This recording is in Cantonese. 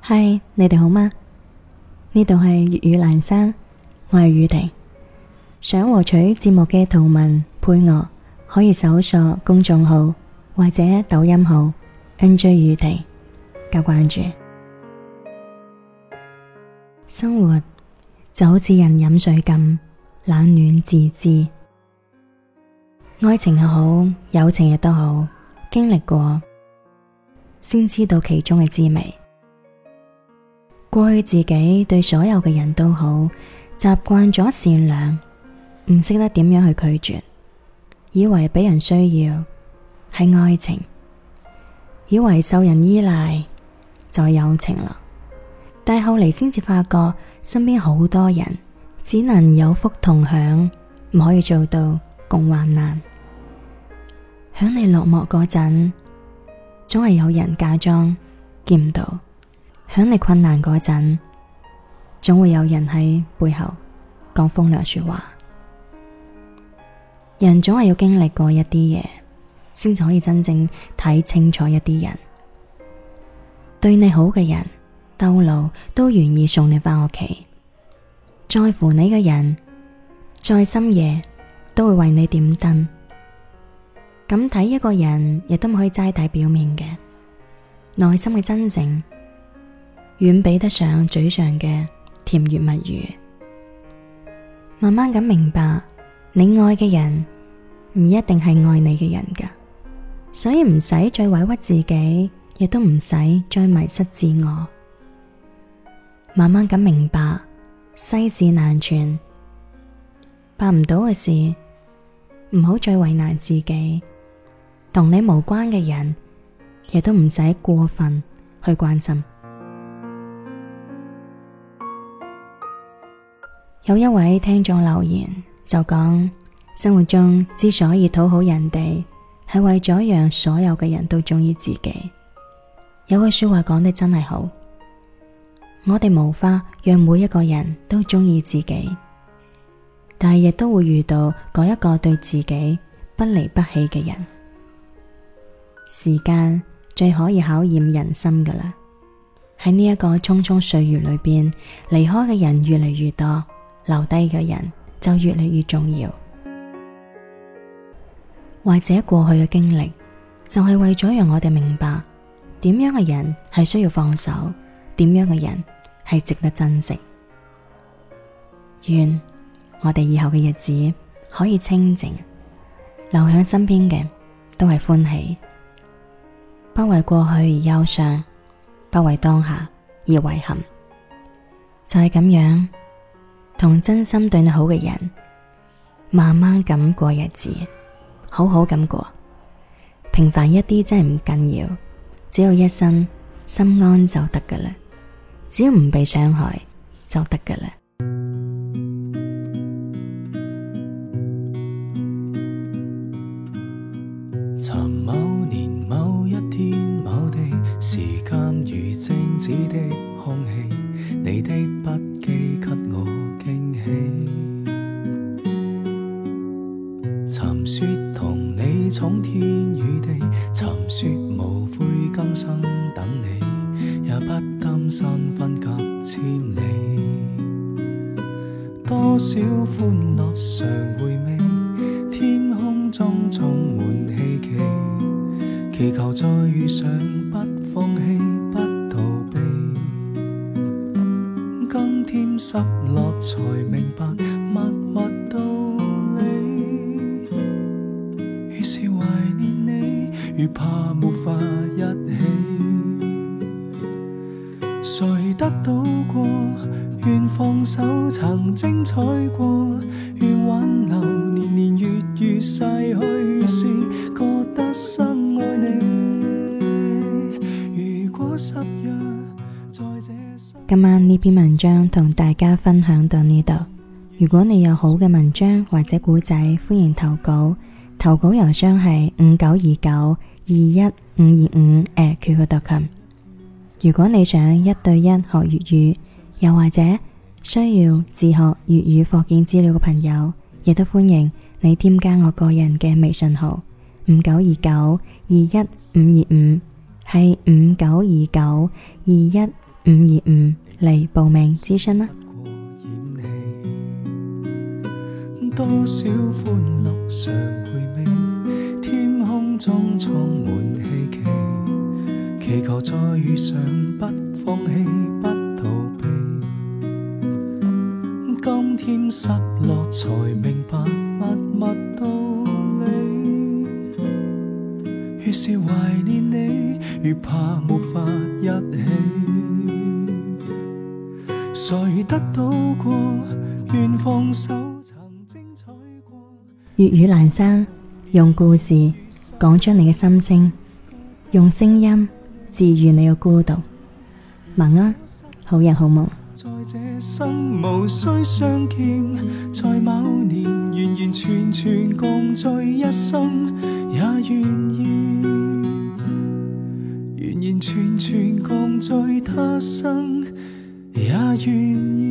嗨，你哋好嗎？呢度係粵語闌珊，我係宇婷。想獲取節目嘅圖文配樂，可以搜索公眾號或者抖音號 NJ 宇婷加關注。生活就好似人飲水咁，冷暖自知。愛情又好，友情亦都好，經歷過先知道其中嘅滋味。過去自己對所有嘅人都好，習慣咗善良，唔識得點樣去拒絕，以為俾人需要係愛情，以為受人依賴就係友情啦。但係後嚟先至發覺，身邊好多人只能有福同享，唔可以做到共患難。響你落寞嗰陣，總係有人假裝見唔到。響你困難嗰陣，總會有人喺背後講風涼說話。人總係要經歷過一啲嘢，先至可以真正睇清楚一啲人。對你好嘅人，兜路都願意送你返屋企；在乎你嘅人，再深夜都會為你點燈。咁睇一個人，亦都唔可以齋睇表面嘅，內心嘅真誠遠比得上嘴上嘅甜言蜜語。慢慢咁明白，你愛嘅人唔一定係愛你嘅人㗎，所以唔使再委屈自己，亦都唔使再迷失自我。慢慢咁明白，世事難全，辦唔到嘅事唔好再為難自己，同你無關嘅人亦都唔使過分去關心。有一位聽眾留言就講，生活中之所以討好人哋，係為咗讓所有嘅人都鍾意自己。有句說話講得真係好，我哋無法讓每一個人都鍾意自己，但係亦都會遇到嗰一個對自己不離不棄嘅人。時間最可以考驗人心㗎喇，喺呢一個匆匆歲月裏邊，離開嘅人越嚟越多，留低嘅人就越嚟越重要。或者過去嘅經歷就係為咗讓我哋明白點樣嘅人係需要放手，點樣嘅人係值得珍惜。願我哋以後嘅日子可以清靜，留響身邊嘅都係歡喜，不為過去而憂傷，不為當下而遺憾。就係咁樣，同真心對你好嘅人慢慢咁過日子，好好咁過。平凡一啲真係唔緊要，只要一生心安就得㗎喇，只要唔被傷害就得㗎喇。 尋某年某一天某地，時間如靜止的空氣，你的筆記給我驚喜。尋說同你闖天與地，尋說無悔今生等你，也不擔心分隔千里。多少歡樂常回味，天空中充滿希冀，祈求再遇上不放棄不逃避。今天失落才明白默默道理，越是懷念你，越怕沒法一起。誰得到過，願放手曾精彩過，願挽留年年月月逝去時，覺得深愛你。如果十日在這今晚呢篇文章同大家分享到呢度。如果你有好嘅文章或者古仔，歡迎投稿。投稿郵箱係5929215525@qq.com。如果你想1對1學粵語，又或者需要自學粵語課件資料嘅朋友，亦都歡迎你添加我個人嘅微信號5929215525，係5929215525。 525嚟報名諮詢啦。 多少歡樂常回味，天空中充滿希冀，祈求再遇上，不放棄，不逃避。今天失落才明白默默道理，越是懷念你，越怕沒法一起。誰得到過，願放手。 粵語闌珊，用故事講出你嘅心聲，用聲音治愈你嘅孤獨。晚安，好人好夢。 在這生無需相見，在某年完完全全共聚一生，也願意完完全全共聚他生，也願意。